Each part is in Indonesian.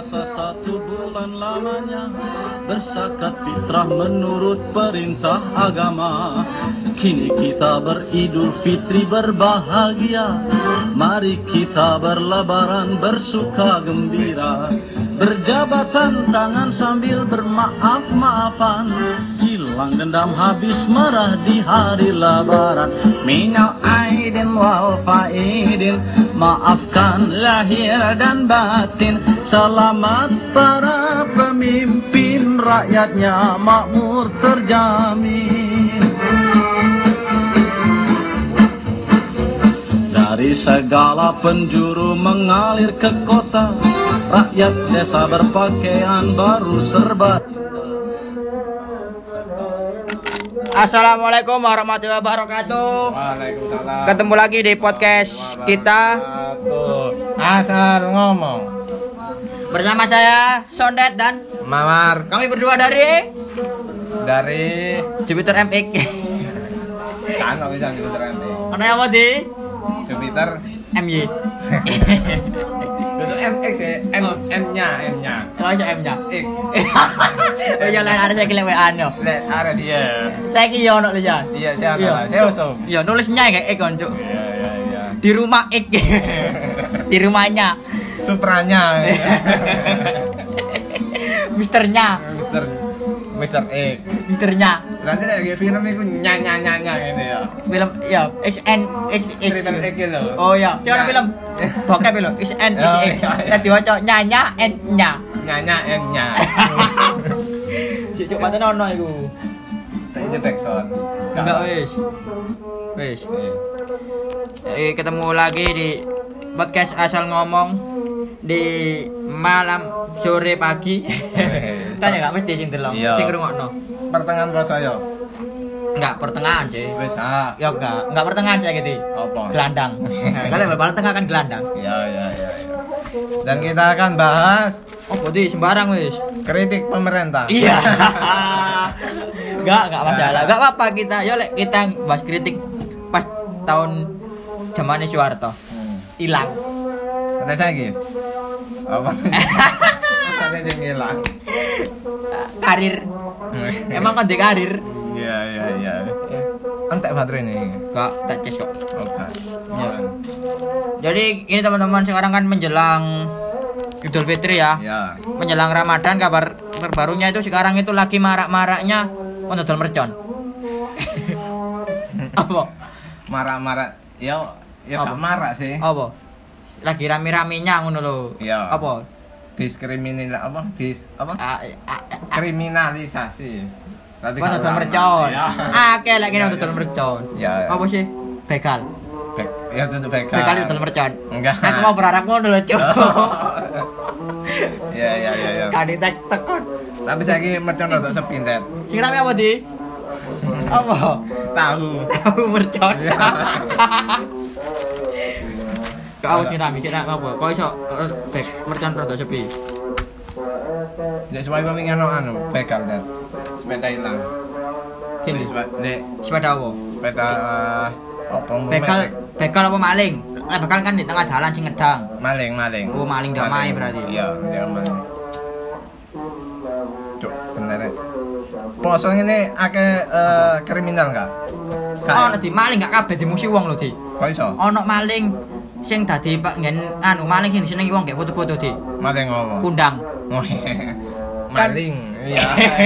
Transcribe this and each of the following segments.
puasa 1 bulan lamanya, berzakat fitrah menurut perintah agama. Kini kita beridul fitri berbahagia, mari kita berlebaran bersuka gembira, berjabatan tangan sambil bermaaf-maafan, hilang dendam habis marah di hari lebaran. Minal aidin wal faidin, maafkan lahir dan batin, selamat para pemimpin, rakyatnya makmur terjamin. Dari segala penjuru mengalir ke kota, rakyat desa berpakaian baru serba. Assalamualaikum warahmatullahi wabarakatuh. Waalaikumsalam. Ketemu lagi di podcast kita Asal Ngomong bersama saya Sondet dan Mawar kami berdua dari Jupiter MX. kan nggak bisa Jupiter nanti. Mana apa di Jupiter MY? itu MX ya, M-nya. Oh iya M-nya. X. Oh iya lain ada saya kira WA nya. Lihat ada dia. Saya kira ono ya. Iya, saya usum. Iya nulisnya kayak X kan cuk. Iya. Di rumah X. Di rumahnya. Supranya. Misternya. Mister X. Misternya. Berarti lagi film itu nyanya ini ya. Film ya XN Cerita X gitu. Oh iya, siapa film? Bokep lho, XN XX. Nek diwaca nyanya N-nya. Nyanya M-nya. Cicuk paten ono iku. Itu backsound. Enggak wis. Ketemu lagi di podcast Asal Ngomong di malam sore pagi. Tanya enggak mesti sing delok, sing ngrungokno. Pertengahan puasa yo. Enggak pertengahan sih. Wis Ya enggak pertengahan saya gitu. Apa? Gelandang. Kalau bal tengah kan gelandang. Ya. Dan kita akan bahas Di sembarang wis. kritik pemerintah. Iya. Enggak masalah. Enggak apa-apa kita. Ya lek kita bahas kritik pas tahun zamane Soeharto. Hilang. Ada saya gitu. Apa? Ada yang hilang. Karir. Emang kan di karir. Iya. Entek baterai ini. Enggak, tak ces kok. Oke. Ya. Jadi ini teman-teman sekarang kan menjelang Idul Fitri ya. Ya. Menjelang Ramadan, kabar terbarunya itu sekarang itu lagi marak-maraknya dodol mercon. Apa? Marah-marah. Ya Apa? gak marah sih. Apa? Lagi rame-ramenya ngono lho. Iya. Apa? Kriminalisasi. Tapi Kok dodol mercon. Ya. Akeh lek kene dodol mercon. Ya. Apa sih? Begal. Ya tentu begal. Begal dodol mercon. Enggak. Aku mau berharap ngono lho, Cuk. Ya. Kan tekon. Tapi saiki mercon rada sepindet. Sing rame apa, Di? Apa? Tahu mercon. Kau sing rame apa? Kok iso mercon rada sepi? Nek suwe wingi anu begal dat. Sepeda hilang. Kini. Nek Sepeda apa? sepeda apa Begal apa maling? Lah begal kan di tengah jalan sing ngedang. maling. Oh, maling damai berarti. Iya, damai. Cuk, bener. Poso ngene akeh kriminal enggak? Ono di maling gak kabeh dimusi wong lho, Di. Kok iso? Ono maling sing dadi ngen maling sing disenengi wong gek foto-foto, Di. Maling ngopo? Kundang. Oh, maling. Iya.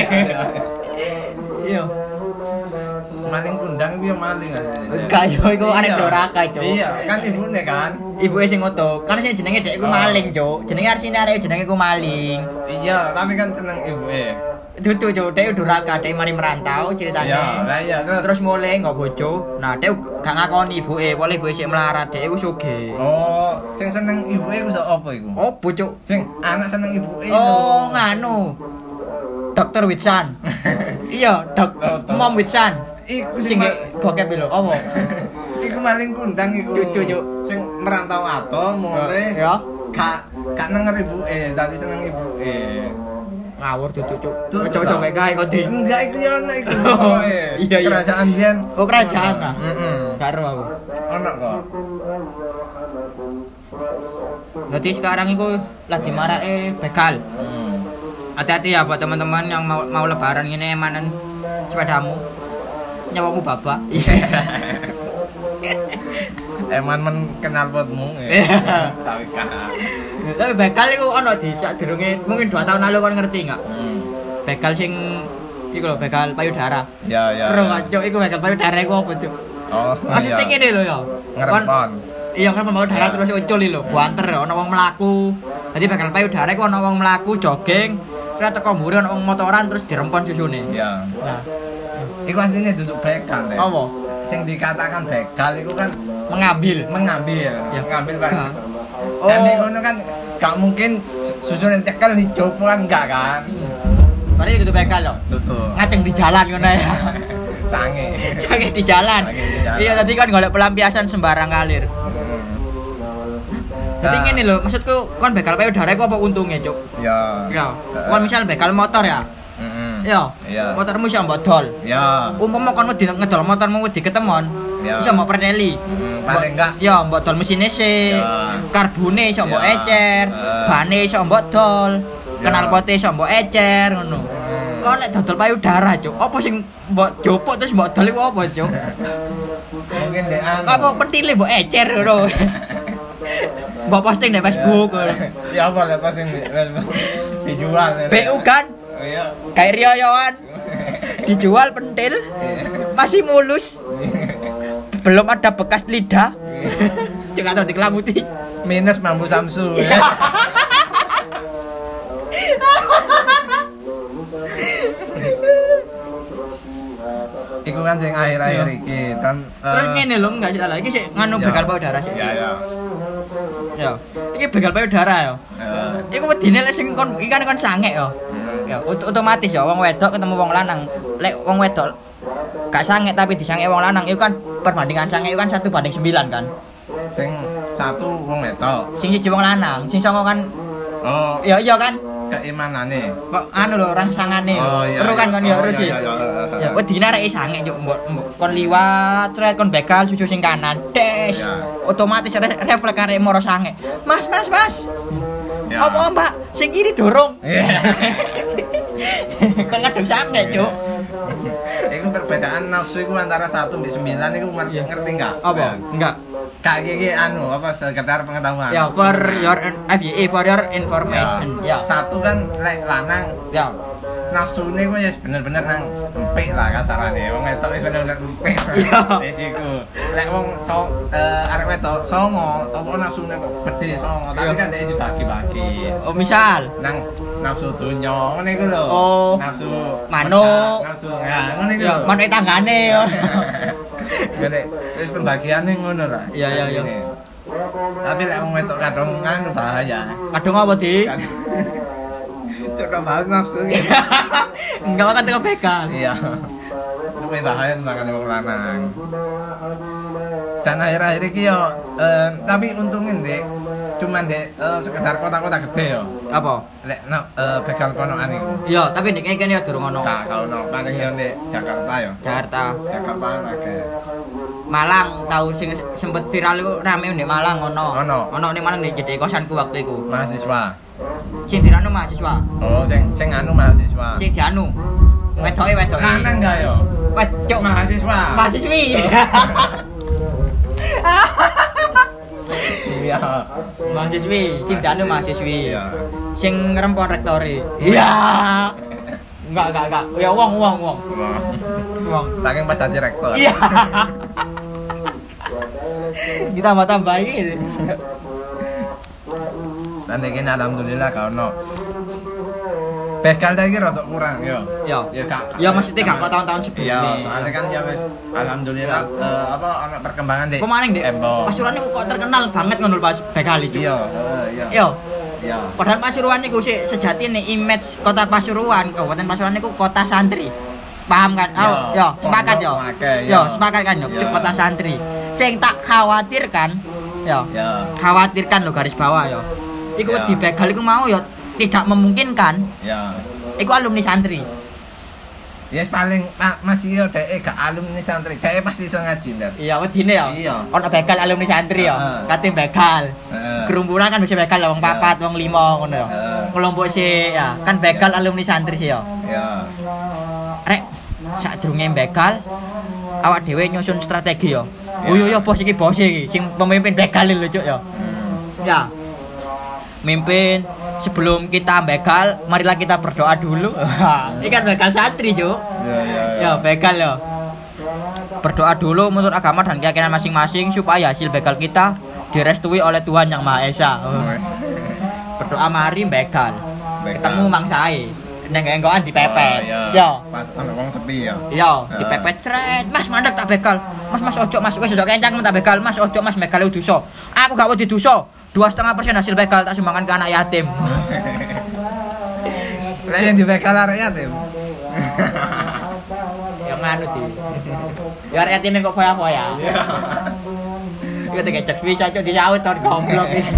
Iya. Maling kundang piye maling aja. Gak yo iku arek doraka, Cuk. Iya, kan ibune kan. Ibuke sing ngoto. Kan sing jenenge dek iku maling, Cuk. Jenenge arsine arek jenenge iku maling. Iya, tapi kan seneng ibuke. Dudu, Cuk. Dek duraka, dek mari merantau ceritane. Iya, lah iya Terus mulai nggak bojo. Nah, dek gak ngakoni ibuke, boleh ibuke sik melarat, dek iku sugih. Oh, sing seneng ibuke ku sok apa iku? Oh, Cuk. Sing anak seneng ibuke. Oh, nganu. Dokter Witsan. Iya, Mom Witsan. Iku Sing bokep lho, apa? Iku maling kundang iku. Cucu, Cuk. Sing merantau ato mulai Ya. Gak nenger ibuke, dadi seneng ibuke. Ngawur Cuk. Cuk, Cocok kayak gawe kok, Di. Enggak iku yo ono iku. Iya. Kerajaan Jen. Oh, kerajaan ah. Heeh. Karo aku. Ono kok. Jadi sekarang itu lagi marake begal. Hati-hati ya buat teman-teman yang mau lebaran ini emanan sepedamu. Nyawamu babak. Eman kenal potmu. Tapi kan. Tapi begal itu ono di sak durunge mungkin 2 tahun lalu kan ngerti enggak? Begal sing iku lho begal payudara. Ya. Seru gak cuk iku begal payudara iku apa cuk? Oh. Maksudnya ngene lho ya. Ngerepon. Iya kan payudara terus ucul lho, buanter ono wong mlaku. Dadi begal payudara iku ono wong mlaku jogging, terus teko mburi ono wong motoran terus dirempon susune. Iya. Nah, iku asline duduk begal deh. apa? Sing dikatakan begal iku kan Mengambil. mengambil Pak. Oh. Dan ngono kan gak mungkin susune cekel dicopo kan enggak kan. Kali itu begal lho. Betul. Ngaceng di jalan ngono ya. Sange. Sange di jalan. Iya tadi kan golek pelampiasan sembarang kalir. Jadi ngene lho, maksudku kon begal payudara iku apa untungnya, Cuk? Ya. Ya. Kon misal begal motor ya. Ya. Iya. Motormu iso mbok dol. Ya. Umpama kon wedi ngedol motormu wedi ketemon, Ya. iso mbok preteli. Paling enggak. Ya, mbok dol mesine sih. Ya. Karbone iso mbok Ya. ecer, bane iso mbok dol, Ya. knalpote iso mbok ecer ngono. Kok nek dodol payudara, Cuk? Apa sing mbok jopuk terus mbok dol iku apa, Cuk? Mungkin dek anu. Apa pentile mbok ecer ngono. Mbok posting di Facebook. Ya apa lah posting dijual. BU kan? Iya. Kayak riyoyoan. Dijual pentil. Masih mulus. Belum ada bekas lidah. Cuk atau dikelamuti. Minus mambu Samsu. Iku kan sing akhir-akhir iki kan. Terus ngene lho, enggak salah. Iki sik nganu Ya. begal payudara sih. Ya. Ya. Iki begal payudara ya. Iku wedine lek sing kon iki kan sange ya. Ya, otomatis ya wong wedok ketemu wong lanang. Lek wong wedok gak sange tapi disange wong lanang itu kan perbandingan sange itu kan 1:9 kan. Sing satu wong wedok. Sing siji wong lanang, sing songo kan Oh, iya kan. keimanane. Kok anu lho rangsangane lho. Oh, iya, Ero kan kon ya terus iya. ya. Wedine arek sange cuk mbok kon liwat terus kon begal susu sing kanan. Des. Ya. Otomatis refleks arek moro sange. Mas. Ya. Apa Mbak? Sing kiri dorong. Iya. Kon ngadeg sange cuk. Iku perbedaan nafsu iku antara 1 sampai 9 iku ngerti enggak? Apa? Enggak. Kayak gini anu apa sekedar pengetahuan. Ya for your FYI for your information. Ya. Satu kan lek lanang Ya. nafsune ku ya bener-bener nang empik lah kasarane. Wong wedok wis bener-bener empik. Iya. Wis iku. Lek wong arek wedok songo, apa nafsune kok gede songo, tapi kan dhek dibagi-bagi. Oh misal Nang nafsu donya ngene iku lho. Oh. Nafsu Manuk. nafsu ya ngene iku. ya manuke tanggane yo. Gede, wis pembagiane ngono lah. Iya. Tapi lek wong wedok kadang nganu bahaya. Kadung apa, Di? Coba bahas nafsu iki. Enggak makan teko begal. Iya. Luwih bahaya tentang wong lanang. Dan akhir-akhir iki yo tapi untungin Dek, cuman Dek sekedar kota-kota gede yo. Apa? Lek begal konoan iku. Iya, tapi nek kene ya durung ono. Gak ono, paling yo Dek Jakarta yo. Jakarta. Jakarta akeh. Malang tahu sing sempet viral iku rame ndek Malang ono. Ono. Ning Malang nek jedhe kosanku waktu iku. Mahasiswa. Sing dirano mahasiswa. Oh, sing anu mahasiswa. Sing dianu. Wedoke. Lanang enggak yo? Wedok Mahasiswa. mahasiswi. Iya. Mahasiswi, sing dianu mahasiswi. Iya. Sing ngrempon rektore. Iya. Enggak. Ya wong. Wong. Saking pas dadi rektor. Iya. Ditambah iki. Dan iki alhamdulillah gak ono. Begal lagi rada kurang yo. Ya. Ya gak. Ya maksudnya gak kok tahun-tahun sebelumnya. Iya, soalnya kan ya wis alhamdulillah apa ono perkembangan deh. Pemaning deh. Pasuruan niku kok terkenal banget ngono pas begal iki. Iya. Iya. Iya. Padahal Pasuruan niku sih sejatine image kota Pasuruan, Kabupaten Pasuruan niku kota santri. Paham kan? Oh, ya, sepakat yo. Ya, sepakat kan yo, kota santri. Sing tak khawatirkan, ya. Khawatirkan lo garis bawah yo. Iku di begal iku mau yo tidak memungkinkan. Ya. Iku alumni santri. Ya paling masih yo dhek gak alumni santri, dhek pasti iso ngaji ndak. Iya, wedine ya. Iya. Ono begal alumni santri ya. Kate begal. Gerumbulan kan bisa begal wong 4, wong 5 ngono ya. Kelompok sih ya, kan begal alumni santri sih ya. Iya. Rek, sadurunge begal awak dhewe nyusun strategi ya. Oh iya bos iki sing pemimpin begal lho cuk ya. Ya. Mimpin sebelum kita begal, marilah kita berdoa dulu. Ini kan begal santri, Cuk. Ya, begal ya. Berdoa dulu menurut agama dan keyakinan masing-masing supaya hasil begal kita direstui oleh Tuhan Yang Maha Esa. Berdoa mari begal. Ketemu mangsae. Neng enggoan dipepet. Ya. Pas ana wong sepi ya. Iya, dipepet cret. Mas mandek tak begal. Mas ojo Mas, wis ojo kencang tak begal. Mas ojo Mas begal dosa. Aku gak wedi dosa. 2,5% hasil begal tak sumbangkan ke anak yatim. Lah yang di begal arek yatim. Yang anu di. Ya arek yatim kok foya-foya. Iku tak cek bisa cok disaut ton goblok iki.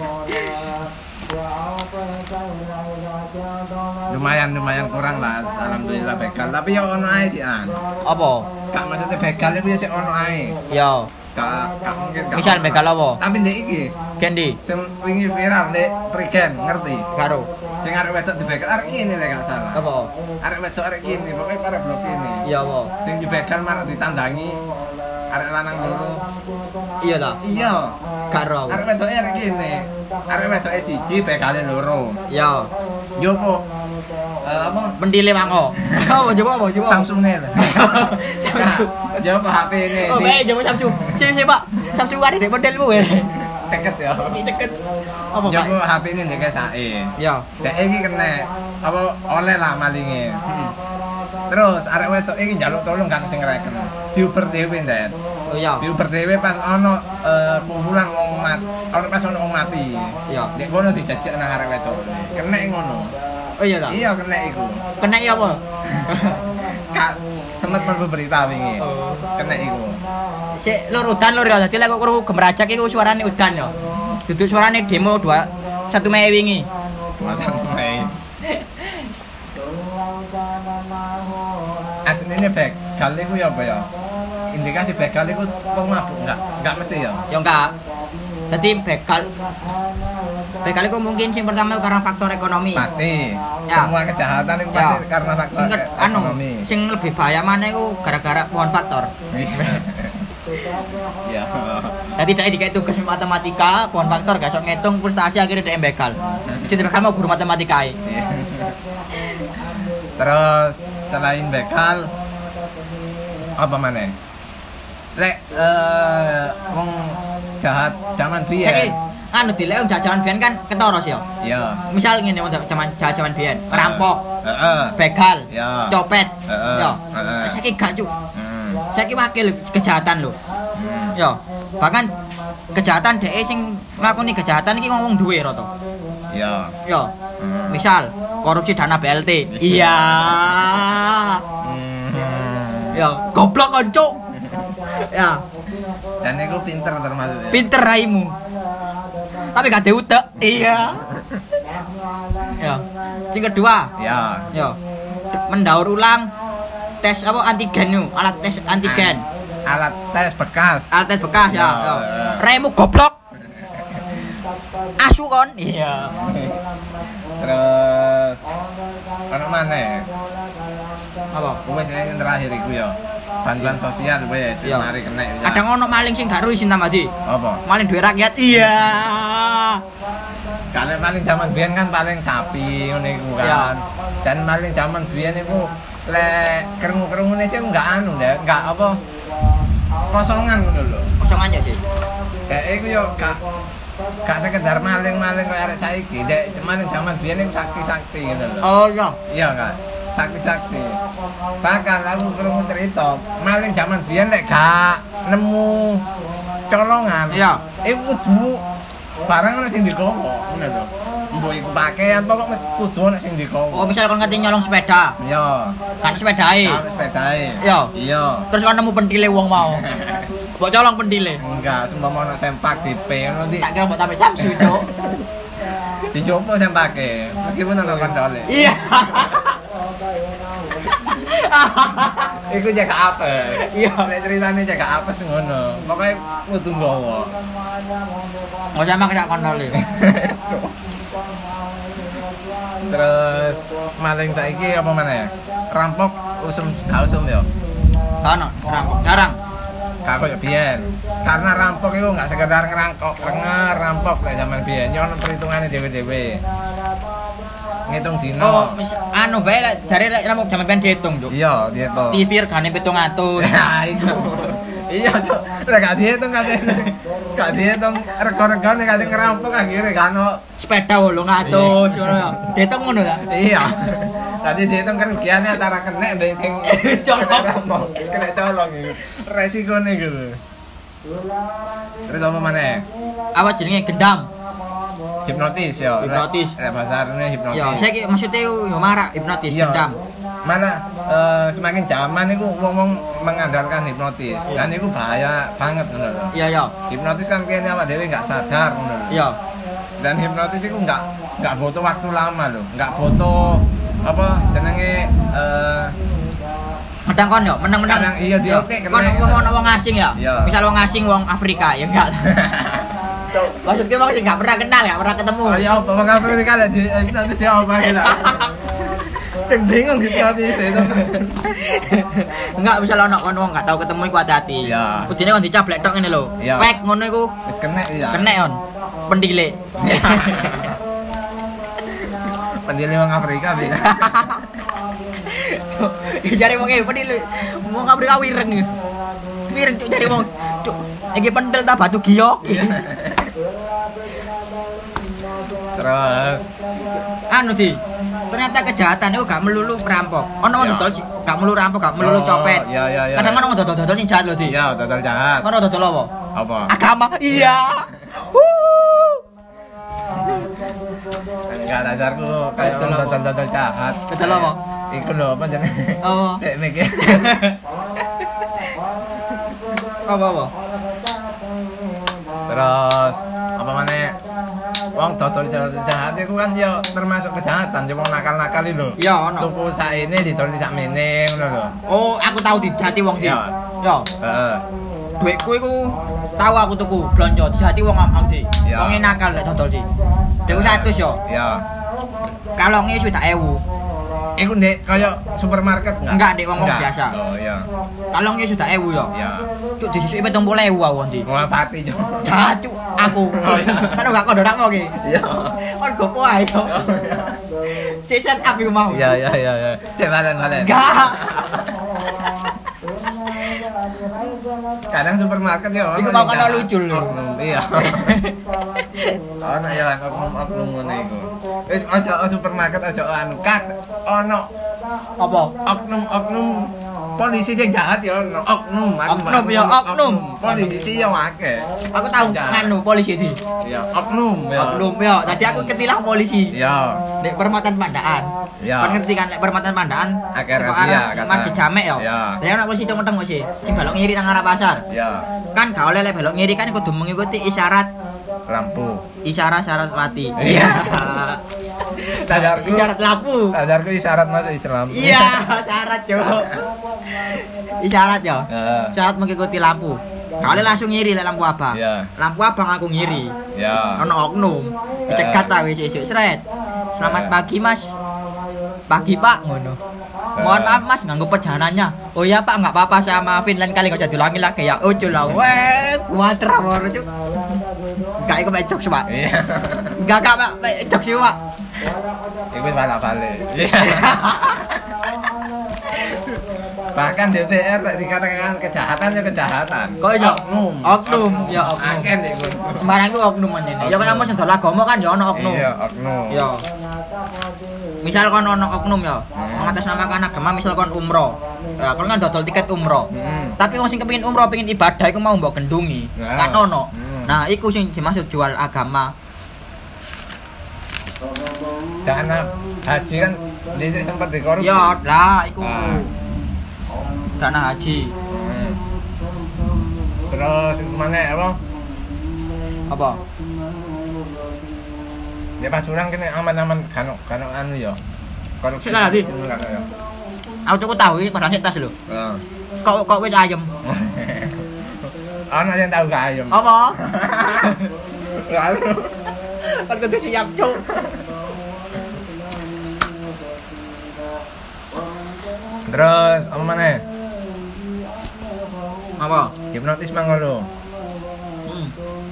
Lumayan kurang lah, alhamdulillah begal. Tapi ya ono ae sih an. Apa? Kak maksudnya begal iku ya sik ono ae. Yo. Kak mungkin gak. Misal begal apa? Tapi ndek iki. Kendi. Sing wingi viral ndek Prigen, ngerti? Karo. Sing arek wedok dibegal arek kene lek gak salah. Apa? Arek wedok arek kene, pokoke arek blok kene. Iya apa? Sing dibegal malah ditandangi arek lanang loro. Iya ta? Iya. Karo. Arek wedoke arek kene. Arek wedoke siji begale loro. Iya. Yo po. Apa? Pendile mangko. Apa coba? Samsung-e. Samsung. Yo po HP ini. Oh, bae coba Samsung. Sih, Pak. Samsung ada di modelmu ya. Ceket ya. Ceket. Apa, Yo Pak? po HP ini ndek sae. Ya. Dek iki kena apa oleh lah malinge. Terus arek wedok iki njaluk tolong kan sing ngreken. Diuber dhewe ndet. Oh iya. Diuber dhewe pas ono kumpulan wong pas ono wong mati. Iya. Nek kono dijajak nang arek wedok. Kena ngono. Oh iya ta? Iya kena iku. Kena iya apa? Kak sempat mlebu berita wingi. Kena iku. Sik lur udan lur ya. Dadi lek kok krungu gemrajak iku suarane udan ya. Duduk suarane demo 1 Mei wingi. Mei. Asline begal iku ya apa ya? Indikasi begal iku wong mabuk enggak mesti ya. Ya enggak. Jadi begal itu mungkin sing pertama karena faktor ekonomi. Pasti. Ya. Semua kejahatan itu pasti karena faktor ekonomi. Sing lebih bahaya mana itu gara-gara pohon faktor. Iya. Jadi tidak dikai tugas matematika, pohon faktor gak sok ngitung frustasi akhirnya dia begal. Jadi begal mau guru matematika. Terus selain begal apa mana? Lek wong jahat zaman biyen. Anu dilek wong jajahan biyen kan ketara sih ya. Iya. Misal ngene wong jajahan biyen, perampok. Heeh. Begal. Iya. Copet. Heeh. Ya. Saiki gak cuk. Saiki wakil kejahatan lho. Ya. Bahkan kejahatan dhek sing nglakoni kejahatan iki ngomong duwe rata. Iya. Ya. Misal korupsi dana BLT. Iya. Ya, goblok kon cuk. Ya. Dan itu pinter termasuk ya. Pinter raimu. Tapi gak ada utek. Iya. Ya. Sing kedua. Ya. Ya. Mendaur ulang tes apa antigen nu, alat tes antigen. Alat tes bekas. Alat tes bekas ya. Ya. Raimu goblok. Asu kon. Iya. Terus ono maneh? Apa? Wes yang terakhir iku ya. Bantuan sosial wes mari kena. Kadang ono maling sing gak ru isin Tamadi. Apa? Maling duit rakyat. Iya. Kalau maling zaman biyen kan paling sapi ngene iku kan. Dan maling zaman biyen iku lek kerungu-kerungune sih enggak anu ndak, enggak apa kosongan ngono lho. Kosongan ya sih. Kayak iku yo gak sekedar maling-maling koyo arek saiki, dek cuman zaman biyen iku sakti-sakti ngono lho. Oh iya. Iya kan. Sakti-sakti. Bahkan aku krungu cerita, maling zaman biyen lek gak nemu colongan. Iya. Iku kudu barang ana sing digowo, ngono lho. Mbok iku pakaian pokok kudu ana sing digowo. Oh, misal kon kate nyolong sepeda. Iya. Kan sepedae. Kan sepedae. Iya. Iya. Terus kon nemu pentile wong mau. Mbok colong pentile. Enggak, sumpah ana sempak dipe ngono di. Tak kira mbok tambah samsu, Cuk. Dicoba sempake, meskipun ana kondole. Iya. Iku jaga apa? Iya. Nek ceritane jaga apa sing ngono. Pokoke kudu nggawa. Oh sama kayak kono lho. Terus maling saiki apa maneh? Rampok gak usum ya. Ono rampok jarang. Gak koyo biyen. Karena rampok itu gak sekedar rampok kayak zaman biyen. Yo ono perhitungane dhewe-dhewe. Ngitung dino. Oh, anu bae lek jare lek rampok jaman biyen diitung, Cuk. Iya, diitung. TV regane 700. Ya iku. Iya, Cuk. Ora gak diitung katene. Gak diitung rego-regone katene ngerampok akhire gak ono Sepeda 800 ngono ya. Diitung ngono ta? iya. Tadi dihitung kerugiannya antara kena dan sing colong. Kena colong iku. Resikone iku. Terus apa maneh? Apa jenenge gendam? Hipnotis ya. Hipnotis. Bahasa arune hipnotis. Ya, saiki maksudnya yo marak hipnotis Iya. gendam. Mana semakin zaman iku wong-wong mengandalkan hipnotis. Dan iku bahaya banget ngono lho. Iya, ya. Hipnotis kan kene awak dhewe enggak sadar ngono lho. Iya. Dan hipnotis iku enggak butuh waktu lama lho. Enggak butuh apa jenenge Menang kon yo, menang-menang. Kadang iya dioke Kon ngomong wong asing ya. Iya. Misal wong asing wong Afrika ya enggak. Maksudnya wong sing enggak pernah kenal, enggak pernah ketemu. Oh ya apa wong Afrika lek hipnotis ya apa kira. Sing bingung hipnotis itu. Enggak misal ono wong enggak tahu ketemu iku hati-hati. Iya. Kudune kon dicablek tok ngene lho. Iya. Pek ngono iku Wis kenek ya. kenek on. Pendile. Pendile wong Afrika bisa. Jare wong pendile. Wong Afrika wireng. Wireng cuk jare wong. Cuk, iki pendel ta batu giok. Terus Anu di ternyata kejahatan itu gak melulu perampok. Ono wong Ya. dodol gak melulu rampok, gak melulu copet. Iya. Kadang ono wong dodol sing jahat lho, Di. Iya, total jahat. Ono dodol apa? Apa? Agama. Iya. Enggak dasarku kayak Total apa? total jahat. Total apa? Iku lho apa jenenge? Apa? Kayak mikir. Apa? Terus apa maneh? Wong dodol jahat iku kan ya termasuk kejahatan, ya wong nakal-nakal lho. Iya, ono. Tuku sakene didol sakmene ngono lho. Oh, aku tahu dijati wong Di. Iya. Yo, Heeh. duitku iku tahu aku tuku blonjo dijati wong am Di. Iya. Wong nakal lek dodol Di. Duitku 100 yo. Iya. Kalonge sudah 1000. Iku ndek kaya supermarket Enggak, Dek, wong biasa. Oh iya. Kalonge sudah 1000 yo. Iya. Cuk disusuki 70.000 aku Di. Wah pati yo. Cacu aku. Kan gak kodo nak mau ki. Iya. Kon gopo ae yo. Season up iku mau. Iya. Cek balen. Enggak. Kadang supermarket ya Iku mau kan lucu lho. Iya. Ono ya oknum ngene iku. Wis aja supermarket aja anu kat ono Apa? oknum polisi sing jahat ya ono oknum Ya, oknum. polisi ya akeh. Aku tahu nganu polisi di. Iya, oknum ya. Oknum yo. Tadi aku ketilang polisi. Iya. Nek Permatan Pandaan. Iya. Kon ngerti kan lek Permatan Pandaan? Akeh teko razia, arah kata. Masjid Jamek yo. Iya. Lah ana polisi teng sih. Sing belok ngiri nang arah pasar. Iya. Kan gak oleh lek belok ngiri kan kudu mengikuti isyarat Lampu. Saraswati. Iya. Tadarku. Isyarat lampu. Tadarku isyarat masuk Islam. Iya, syarat yo. Isyarat yo. Heeh. Syarat mengikuti lampu. Kali langsung ngiri lek lampu abang. Iya. Lampu abang aku ngiri. Ya. Ono oknum. Dicegat ta wis esuk sret. Selamat pagi, Mas. Pagi, Pak, ngono. Mohon maaf, Mas, ganggu perjalanannya. Oh iya, Pak, enggak apa-apa, saya maafin lain kali enggak jadi ulangi lagi ya. Ucul lah. Weh, kuater baru cuk. Enggak ikut jok sih, Pak. Iya. Enggak, Pak, jok sih, Pak. Iku balik. Iya. Bahkan DPR dikatakan kejahatan ya kejahatan. Kok iso? Oknum. Oknum, ya oknum. Akeh ndek kono. Sembarang ku oknum menene. Ya kaya mos ndol agama kan ya ono oknum. Iya, oknum. Ya. Misal kon ono oknum ya, mengatasnamakan agama misal kon umroh. Ya, kon kan dodol tiket umroh. Tapi wong sing kepengin umroh, pengin ibadah iku mau mbok gendungi. Nah. Kan ono. Nah, iku sing dimaksud jual agama. Dana haji kan dhisik sempat dikorupsi. Ya, lah iku. Ah. Dana haji. Terus mana apa? Apa? Ya Pasuruan kene aman-aman kan anu ya. Korupsi. Sik lagi. Aku tuku tahu iki padahal sik tas lho. Heeh. Kok wis ayem. Ana sing tahu gak ayem. Apa? Lalu Kan kudu siap, Cuk. terus apa maneh? Apa? Hipnotis mangko lho. Hmm.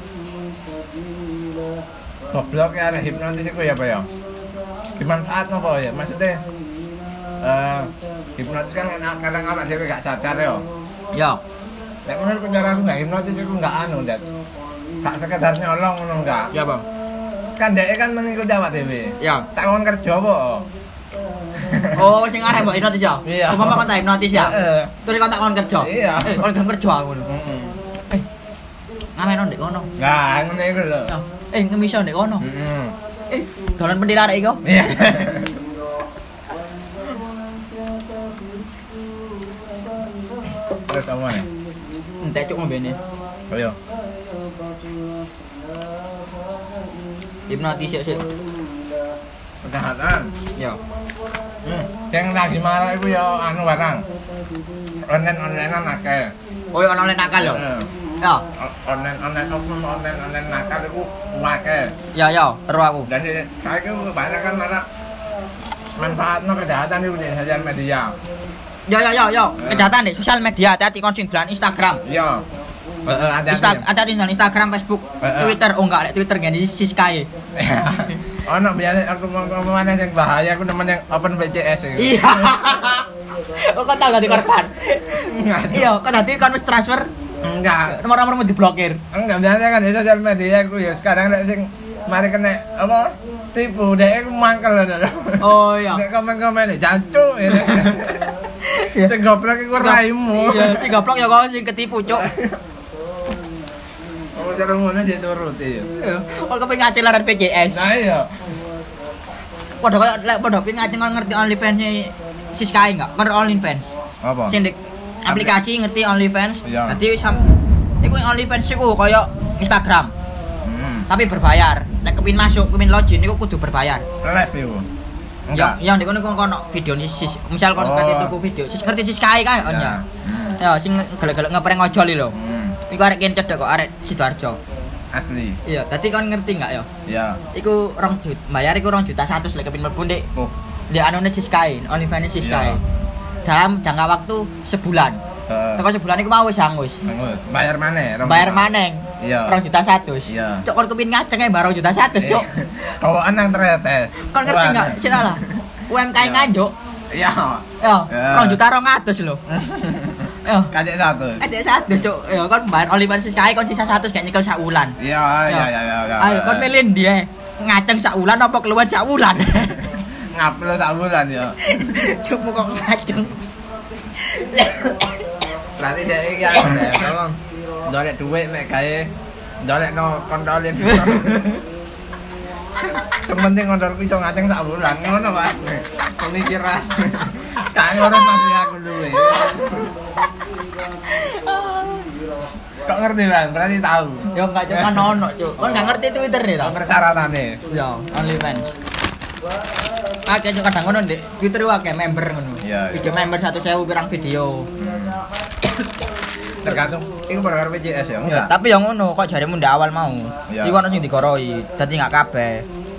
Goblok ya ada hipnotis iku ya apa ya? Dimanfaat apa ya? Maksudnya hipnotis kan kadang awak dhewe gak sadar ya. Ya. Nek menurutku cara aku gak hipnotis iku gak anu, Ndat. Gak sekedar nyolong ngono enggak. Ya, Bang. Kan dhek kan mengikuti awak dhewe. Ya. Tak kon kerja apa? Oh, sing arep mbok hipnotis ya? Iya. Umpama kon tak hipnotis ya. Heeh. Terus kon tak kon kerja. Iya. Kon gelem kerja aku ngono. Heeh. Ngamen ndek kono. Nah, ngene iku lho. Ya. Ngemiso ndek kono. Heeh. Dolan pentil arek iku. Iya. Terus apa nih? Entek cuk ngombene. Oh iya. Hipnotis sik. Kesehatan. Ya. Yang lagi marah itu ya anu barang. Online-onlinean akeh. Oh, ya ono nakal yo. Heeh. Ya. Online nakal itu akeh. Ya, terus aku. Dan saiki banyak kan malah manfaatno kejahatan itu di sosial media. Ya. Kejahatan deh sosial media, hati-hati kon sing dolan Instagram. Iya. Heeh, hati-hati. Ada Instagram, Facebook, Twitter, oh enggak, Twitter ngene Siskae. Ono biasa aku ngomong mana yang bahaya aku nemen yang open BCS itu. Iya. Oh, kok tau dadi korban? Iya, kok dadi kon wis transfer Enggak. nomor-nomormu diblokir. Enggak biasa kan di sosial media aku ya sekarang nek sing mari kena apa tipu dek aku mangkel lho. Oh iya. Nek komen-komen jancuk ini. Sing goblok iku raimu. Iya, sing goblok ya kok sing ketipu, Cuk. Oh seru ngono jadi turuti ya. Kok kepengin ngacil laran PCS. Nah iya. Padha kok lek padha pengin ngacil ngerti OnlyFans-e Siskae enggak? Ngerti OnlyFans. Apa? Sing di aplikasi ngerti OnlyFans. Iya. Dadi iku OnlyFans iku kaya Instagram, tapi berbayar. Nek kepin masuk, kepin login iku kudu berbayar. Live iku. Ya ndek kono kono video sis. Misal kon kate tuku video. Sis ngerti Siskae kan on ya. Ya sing gelek-gelek ngeprank ojol lho. Iku arek kene cedek kok arek Sidoarjo. Asli. Iya, dadi kon ngerti enggak ya? Iya. Iku 2 juta, bayar iku 2.100.000 lek kepin mlebu ndek. Oh. Ndek anune Siskae, OnlyFans Siskae. Dalam jangka waktu sebulan. Teko sebulan iku mau wis hangus. Bayar maneh? Bayar maneng. Iya. 2.100.000. Iya. Cuk kon kepin ngaceng ae 2.100.000, Cuk. Kawan nang tretes. Kon ngerti enggak? Sik salah. UMKM nganjuk. Iya. Ya, 2.200.000 lho. Ya. Kacek 100. Kacek 100, Cuk. Ya kon bayar OnlyFans Siskae kon sisa 100 gak nyekel sak wulan. Iya. Ayo kon milih ndi ae. Ngaceng sak wulan apa keluar sak wulan? Ngupload sak bulan ya. Cuk kok ngaceng. Berarti dhek iki tolong ndolek dhuwit mek gawe ndolekno kontolin. Sing penting kontolku iso ngaceng sak bulan ngono, Pak. Pemikiran. Gak ngurus masih aku duwe. Kok ngerti, Bang? Berarti tahu. Ya enggak cuma ono, Cuk. Kon enggak ngerti Twitter nih ta? Persyaratannya. Ya, OnlyFans. Akeh cuk kadang ngono ndek Twitter akeh member ngono. Iya. Video member 1.000 pirang video. Tergantung iku perkara PCS ya. Ya, tapi yang ngono kok jaremu ndak awal mau. Iya. Iku ono sing dikoroi, dadi enggak kabeh.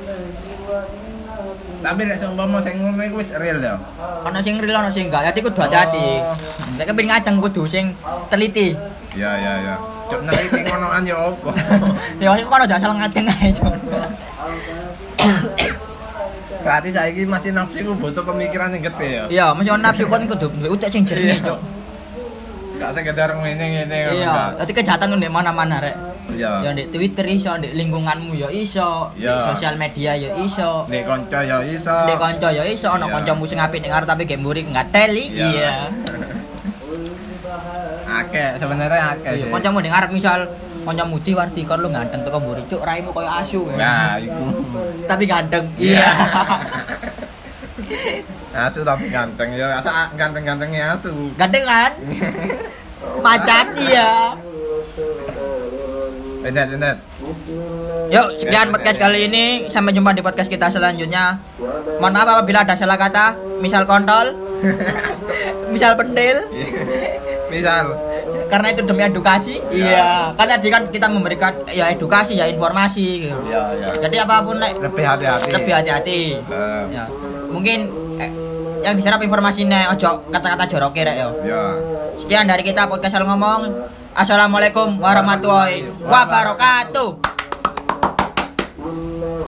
Tapi nek seumpama sing ngono iku wis real ya. Ono sing real ono sing enggak. Dadi kudu hati-hati. Nek kepengin ngajeng kudu sing teliti. Iya. Cuk neliti ngonoan ya opo. Ya kok ono asal ngajeng ae, Cuk. Berarti saiki masih nafsu iku butuh pemikiran sing gede ya. Iya, mesti ono nafsu kon kudu duwe utek sing jernih, Cuk. Gak sekedar ngene Iya, dadi kejahatan ndek mana-mana rek. Iya. Ya ndek Twitter iso, ndek lingkunganmu ya iso, ndek sosial media ya iso. Ndek kanca ya iso. Ndek kanca ya iso, ana kancamu sing apik ning arep tapi gek mburi ngateli. Iya. Akeh, sebenarnya akeh sih. Kancamu ning arep misal kancamu Wardi kon lu ganteng teko mburi, cuk raimu koyo asu. Ya, iku. Tapi ganteng. Iya. Asu tapi ganteng ya, rasa ganteng-gantengnya asu. Ganteng kan? Macan iya. Benet. Yuk, sekian podcast kali ini. Sampai jumpa di podcast kita selanjutnya. Mohon maaf apabila ada salah kata, misal kontol. misal pentil. Misal Karena itu demi edukasi. Iya. Kan tadi kan kita memberikan ya edukasi ya informasi gitu. ya. Jadi apapun Lebih hati-hati. Ya. Mungkin yang diserap informasinya ojo kata-kata joroke rek yo. Ya. Sekian dari kita podcast Ngomong. Assalamualaikum warahmatullahi wabarakatuh.